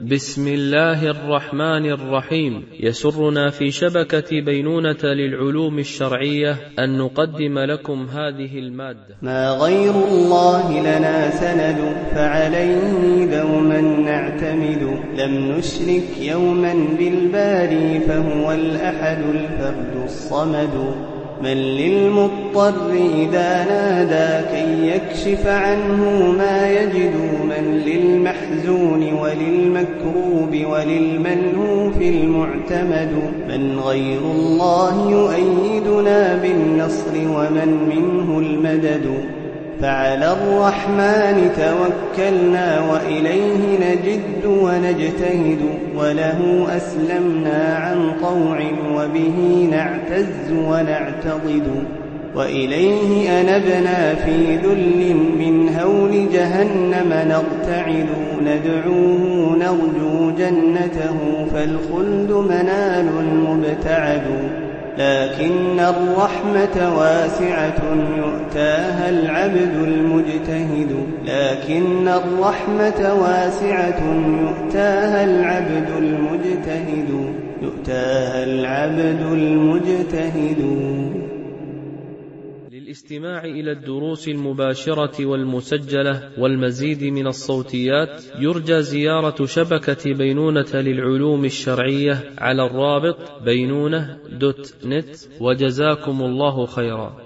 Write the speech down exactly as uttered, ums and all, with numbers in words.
بسم الله الرحمن الرحيم. يسرنا في شبكة بينونة للعلوم الشرعية أن نقدم لكم هذه المادة. ما غير الله لنا سند، فعليه دوما نعتمد. لم نشرك يوما بالباري، فهو الأحد الفرد الصمد. من للمضطر إذا نادى كي يكشف عنه ما يجد. من للمحزون وللمكروب وللملهوف المعتمد. من غير الله يؤيدنا بالنصر، ومن منه المدد. فعلى الرحمن توكلنا، وإليه نجد ونجتهد. وله أسلمنا عن طوع، وبه نعتز ونعتضد. وإليه أنبنا في ذل من هول جهنم نرتعد. ندعوه نرجو جنته، فالخلد منال مبتعد. لكن الرحمة واسعة يؤتاها العبد المجتهد. لكن الرحمة واسعة يؤتاها العبد المجتهد. يؤتاها العبد المجتهد. للاستماع إلى الدروس المباشرة والمسجلة والمزيد من الصوتيات يرجى زيارة شبكة بينونة للعلوم الشرعية على الرابط بينونة دوت نت. وجزاكم الله خيرا.